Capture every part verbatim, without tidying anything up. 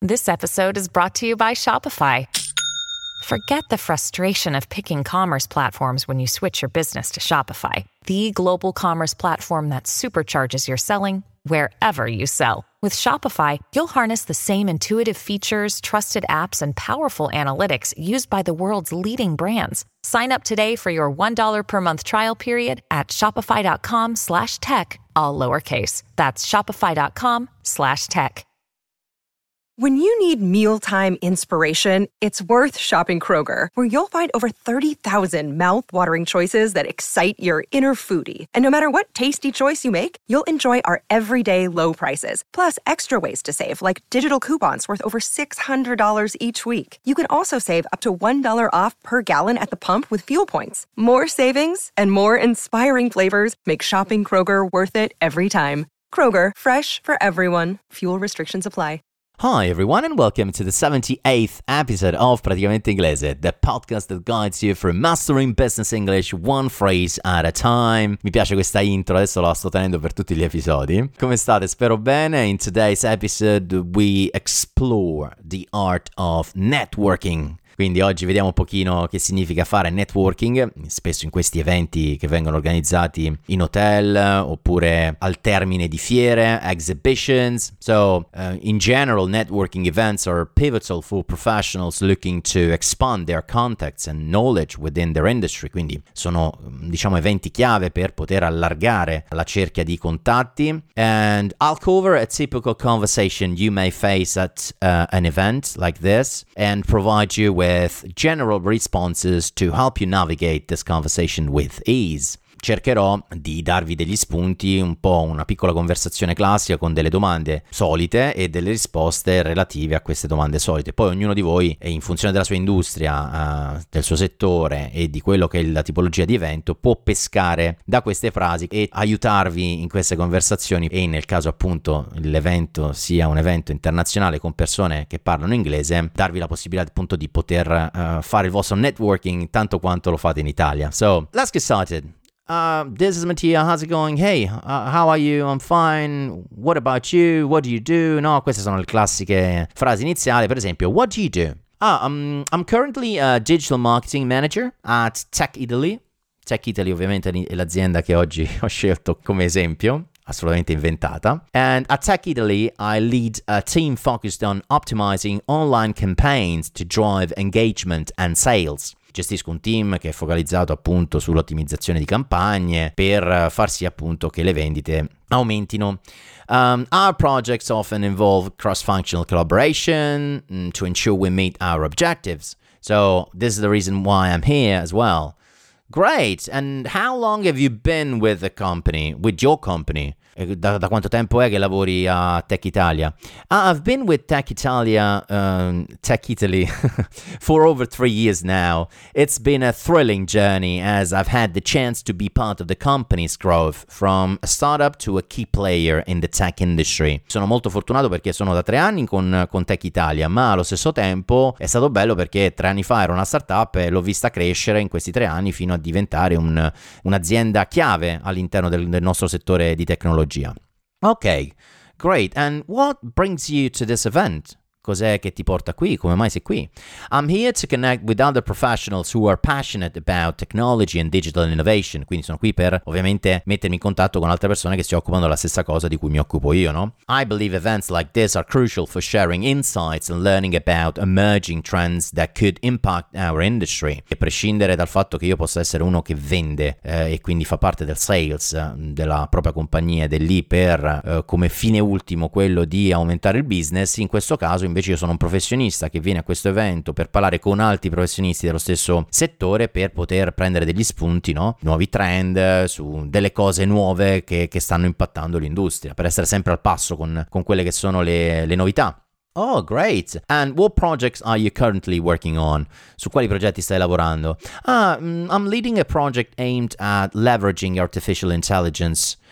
This episode is brought to you by Shopify. Forget the frustration of picking commerce platforms when you switch your business to Shopify, the global commerce platform that supercharges your selling wherever you sell. With Shopify, you'll harness the same intuitive features, trusted apps, and powerful analytics used by the world's leading brands. Sign up today for your one dollar per month trial period at shopify.com slash tech, all lowercase. That's shopify.com slash tech. When you need mealtime inspiration, it's worth shopping Kroger, where you'll find over thirty thousand mouth-watering choices that excite your inner foodie. And no matter what tasty choice you make, you'll enjoy our everyday low prices, plus extra ways to save, like digital coupons worth over six hundred dollars each week. You can also save up to one dollar off per gallon at the pump with fuel points. More savings and more inspiring flavors make shopping Kroger worth it every time. Kroger, fresh for everyone. Fuel restrictions apply. Hi everyone and welcome to the seventy-eighth episode of Praticamente Inglese, the podcast that guides you through mastering business English one phrase at a time. Mi piace questa intro, adesso la sto tenendo per tutti gli episodi. Come state? Spero bene. In today's episode we explore the art of networking. Quindi oggi vediamo un pochino che significa fare networking, spesso in questi eventi che vengono organizzati in hotel oppure al termine di fiere, exhibitions. So, uh, in general, networking events are pivotal for professionals looking to expand their contacts and knowledge within their industry. Quindi sono, diciamo, eventi chiave per poter allargare la cerchia di contatti. And I'll cover a typical conversation you may face at uh, an event like this and provide you with with general responses to help you navigate this conversation with ease. Cercherò di darvi degli spunti, un po' una piccola conversazione classica con delle domande solite e delle risposte relative a queste domande solite. Poi ognuno di voi, in funzione della sua industria, uh, del suo settore e di quello che è la tipologia di evento, può pescare da queste frasi e aiutarvi in queste conversazioni, e nel caso appunto l'evento sia un evento internazionale con persone che parlano inglese, darvi la possibilità appunto di poter uh, fare il vostro networking tanto quanto lo fate in Italia. So, let's get started. Uh, this is Mattia, how's it going? Hey, uh, how are you? I'm fine. What about you? What do you do? No, queste sono le classiche frasi iniziali. Per esempio, what do you do? Ah, um, I'm currently a digital marketing manager at Tech Italy. Tech Italy ovviamente è l'azienda che oggi ho scelto come esempio, assolutamente inventata. And at Tech Italy, I lead a team focused on optimizing online campaigns to drive engagement and sales. Gestisco un team che è focalizzato appunto sull'ottimizzazione di campagne per far sì appunto che le vendite aumentino. Um, our projects often involve cross-functional collaboration mm, to ensure we meet our objectives. So this is the reason why I'm here as well. Great. And how long have you been with the company, with your company? Da, da quanto tempo è che lavori a Tech Italia? Uh, I've been with Tech Italia, um, Tech Italy for over three years now. It's been a thrilling journey as I've had the chance to be part of the company's growth from a startup to a key player in the tech industry. Sono molto fortunato perché sono da tre anni con, con Tech Italia, ma allo stesso tempo è stato bello perché tre anni fa ero una startup e l'ho vista crescere in questi tre anni fino a diventare un, un'azienda chiave all'interno del, del nostro settore di tecnologia. Ok, great. And what brings you to this event? Cos'è che ti porta qui? Come mai sei qui? I'm here to connect with other professionals who are passionate about technology and digital innovation. Quindi sono qui per ovviamente mettermi in contatto con altre persone che si occupano della stessa cosa di cui mi occupo io, no? I believe events like this are crucial for sharing insights and learning about emerging trends that could impact our industry. E prescindere dal fatto che io possa essere uno che vende eh, e quindi fa parte del sales eh, della propria compagnia ed è lì per eh, come fine ultimo quello di aumentare il business, in questo caso invece io sono un professionista che viene a questo evento per parlare con altri professionisti dello stesso settore per poter prendere degli spunti, no? Nuovi trend, su delle cose nuove che, che stanno impattando l'industria, per essere sempre al passo con, con quelle che sono le, le novità. Oh, great. And what projects are you currently working on? Su quali progetti stai lavorando? Ah, I'm leading a project aimed at leveraging artificial intelligence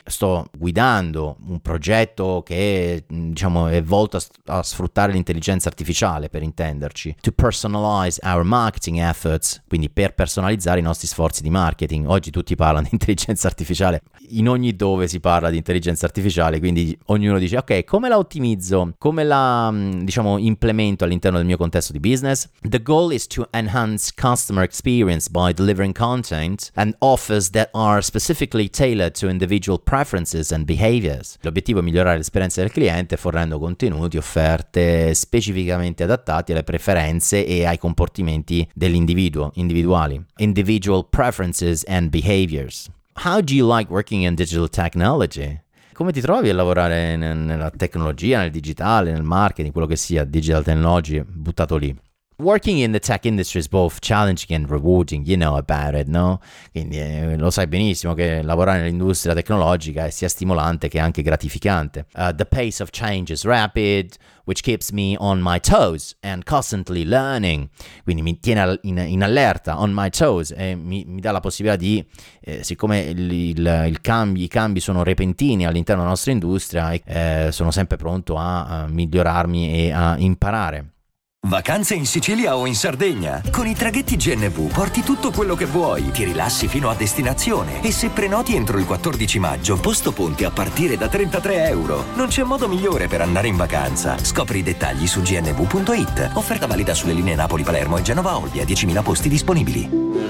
sto guidando un progetto che diciamo è volto a, a sfruttare l'intelligenza artificiale, per intenderci, to personalize our marketing efforts, quindi per personalizzare i nostri sforzi di marketing. Oggi tutti parlano di intelligenza artificiale, in ogni dove si parla di intelligenza artificiale, quindi ognuno dice ok, come la ottimizzo, come la diciamo implemento all'interno del mio contesto di business. The goal is to enhance customer experience by delivering content and offers that are specifically tailored to individual preferences and behaviors. L'obiettivo è migliorare l'esperienza del cliente fornendo contenuti, offerte specificamente adattati alle preferenze e ai comportamenti dell'individuo, individuali. Individual preferences and behaviors. How do you like working in digital technology? Come ti trovi a lavorare nella tecnologia, nel digitale, nel marketing, quello che sia, digital technology, buttato lì? Working in the tech industry is both challenging and rewarding, you know about it, no? Quindi eh, lo sai benissimo che lavorare nell'industria tecnologica è sia stimolante che anche gratificante. Uh, the pace of change is rapid, which keeps me on my toes and constantly learning. Quindi mi tiene in, in allerta, on my toes, e mi, mi dà la possibilità di, eh, siccome il, il, il cambi, i cambi sono repentini all'interno della nostra industria, eh, sono sempre pronto a, a migliorarmi e a imparare. Vacanze in Sicilia o in Sardegna? Con i traghetti G N V porti tutto quello che vuoi, ti rilassi fino a destinazione e se prenoti entro il quattordici maggio, posto ponti a partire da trentatré euro. Non c'è modo migliore per andare in vacanza. Scopri i dettagli su g n v punto i t. Offerta valida sulle linee Napoli-Palermo e Genova-Olbia, diecimila posti disponibili.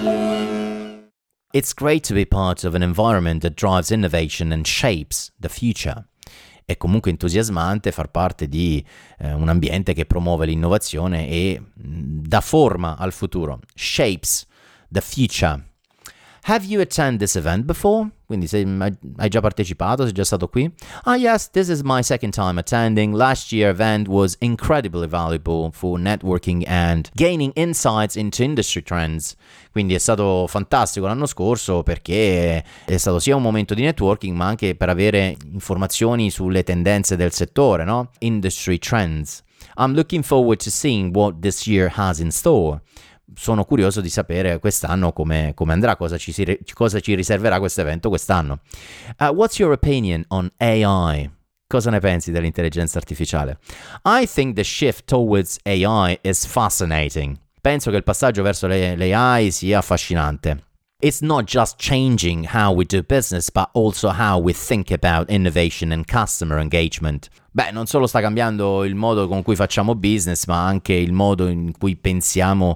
It's great to be part of an environment that drives innovation and shapes the future. È comunque entusiasmante far parte di eh, un ambiente che promuove l'innovazione e mh, dà forma al futuro. Shapes the future. Have you attended this event before? Quindi sei, hai già partecipato, sei già stato qui? Ah yes, this is my second time attending. Last year event was incredibly valuable for networking and gaining insights into industry trends. Quindi è stato fantastico l'anno scorso perché è stato sia un momento di networking ma anche per avere informazioni sulle tendenze del settore, no? Industry trends. I'm looking forward to seeing what this year has in store. Sono curioso di sapere quest'anno come, come andrà, cosa ci, si, cosa ci riserverà questo evento quest'anno. Uh, what's your opinion on A I? Cosa ne pensi dell'intelligenza artificiale? I think the shift towards A I is fascinating. Penso che il passaggio verso l'A I sia affascinante. It's not just changing how we do business, but also how we think about innovation and customer engagement. Beh, non solo sta cambiando il modo con cui facciamo business, ma anche il modo in cui pensiamo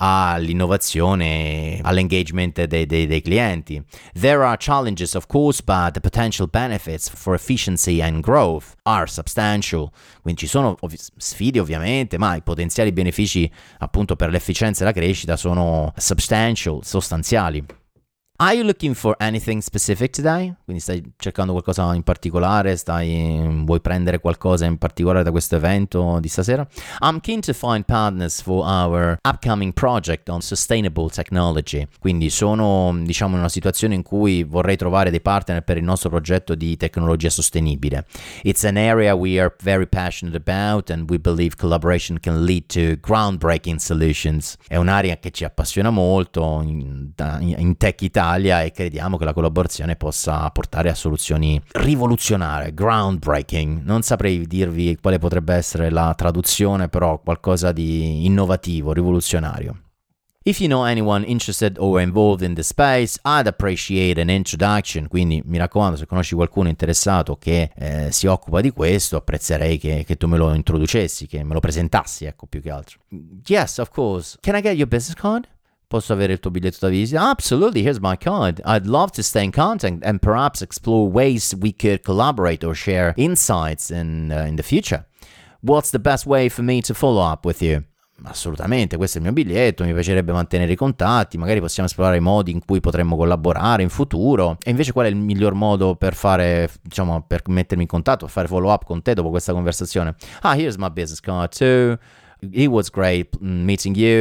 all'innovazione, all'engagement dei, dei, dei clienti. There are challenges, of course, but the potential benefits for efficiency and growth are substantial. Quindi ci sono ov- sfide ovviamente, ma i potenziali benefici appunto per l'efficienza e la crescita sono substantial, sostanziali. Are you looking for anything specific today? Quindi stai cercando qualcosa in particolare? Stai, vuoi prendere qualcosa in particolare da questo evento di stasera? I'm keen to find partners for our upcoming project on sustainable technology. Quindi sono, diciamo, in una situazione in cui vorrei trovare dei partner per il nostro progetto di tecnologia sostenibile. It's an area we are very passionate about and we believe collaboration can lead to groundbreaking solutions. È un'area che ci appassiona molto in, in Tech Italia e crediamo che la collaborazione possa portare a soluzioni rivoluzionarie, groundbreaking. Non saprei dirvi quale potrebbe essere la traduzione, però qualcosa di innovativo, rivoluzionario. If you know anyone interested or involved in the space, I'd appreciate an introduction. Quindi mi raccomando, se conosci qualcuno interessato che eh, si occupa di questo, apprezzerei che, che tu me lo introducessi, che me lo presentassi, ecco, più che altro. Yes, of course. Can I get your business card? Posso avere il tuo biglietto da visita? Absolutely, here's my card. I'd love to stay in contact and perhaps explore ways we could collaborate or share insights in, uh, in the future. What's the best way for me to follow up with you? Assolutamente, questo è il mio biglietto, mi piacerebbe mantenere i contatti, magari possiamo esplorare i modi in cui potremmo collaborare in futuro. E invece qual è il miglior modo per fare, diciamo, per mettermi in contatto, fare follow up con te dopo questa conversazione? Ah, here's my business card too. It was great meeting you.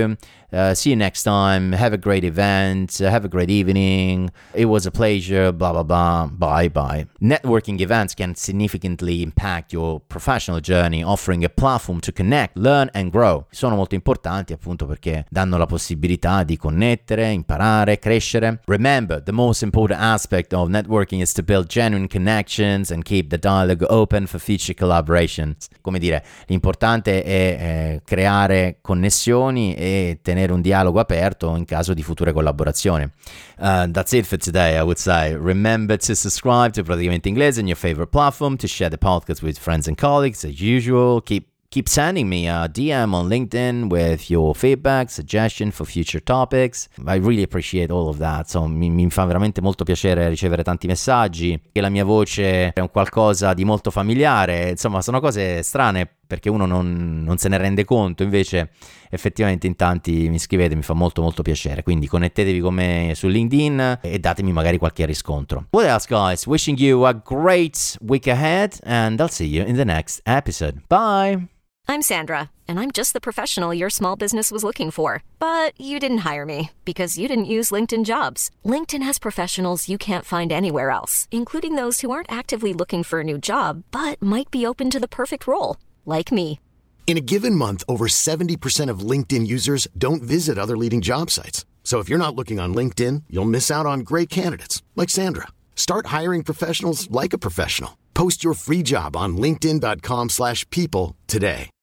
Uh, see you next time. Have a great event. Uh, have a great evening. It was a pleasure. Blah, blah, blah. Bye, bye. Networking events can significantly impact your professional journey, offering a platform to connect, learn and grow. Sono molto importanti appunto perché danno la possibilità di connettere, imparare, crescere. Remember, the most important aspect of networking is to build genuine connections and keep the dialogue open for future collaborations. Come dire, l'importante è eh, creare connessioni e tenere un dialogo aperto in caso di future collaborazioni. Uh, that's it for today, I would say. Remember to subscribe to Praticamente Inglese on your favorite platform, to share the podcast with friends and colleagues as usual. Keep Keep sending me a D M on LinkedIn with your feedback, suggestion for future topics. I really appreciate all of that. So, mi, mi fa veramente molto piacere ricevere tanti messaggi, che la mia voce è un qualcosa di molto familiare. Insomma, sono cose strane perché uno non, non se ne rende conto. Invece, effettivamente in tanti mi scrivete, mi fa molto molto piacere. Quindi connettetevi con me su LinkedIn e datemi magari qualche riscontro. What else, guys? Wishing you a great week ahead and I'll see you in the next episode. Bye! I'm Sandra, and I'm just the professional your small business was looking for. But you didn't hire me because you didn't use LinkedIn Jobs. LinkedIn has professionals you can't find anywhere else, including those who aren't actively looking for a new job, but might be open to the perfect role, like me. In a given month, over seventy percent of LinkedIn users don't visit other leading job sites. So if you're not looking on LinkedIn, you'll miss out on great candidates, like Sandra. Start hiring professionals like a professional. Post your free job on linkedin dot com slash people today.